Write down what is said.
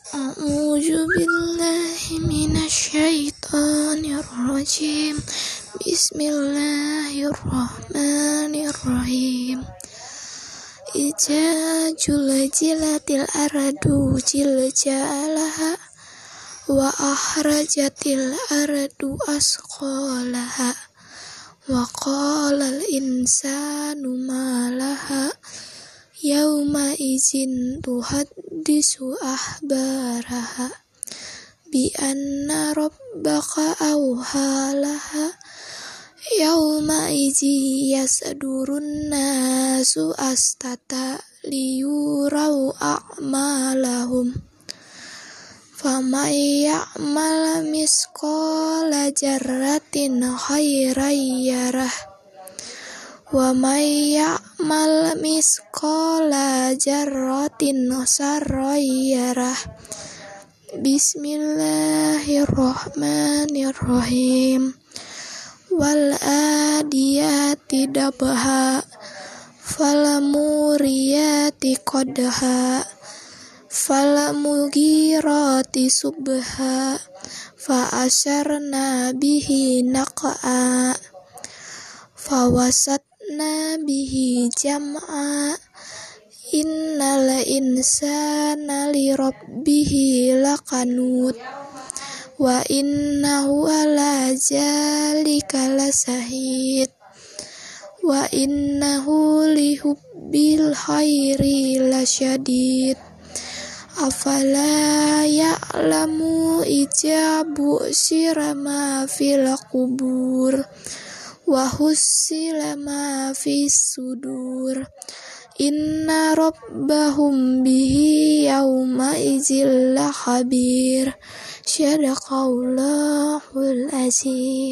A'udzu billahi minasyaitonir rajim. Bismillahirrahmanirrahim. Iza juljilatil ardu jiljalaha wa akhrajatil ardu asqalaha wa qalal insanu ma laha yauma izin tuhaddisu ahbaraha bi anna rabbaka awhalaha yauma izi yasdurun nasu astata liyurau a'malahum faman ya'mal misqala jarratin khairan yarah wa may ya'mal misqala jarratin sarran yarah. Bismillahirrahmanirrahim. Wal adiyati dabha falamuriyati qadha falamugirati subha fa asharna bihi naq'a fawasatna bihi jam'a innal insana lirabbihi lakanut wa innahu ala zalika lasahid wa innahu lihubbil khairi lasyadid afala ya'lamu ijabu sirama fil qubur wa hussila ma fis sudur inna rabbahum bihi yawma izil khabir. Syadaqallahul azim.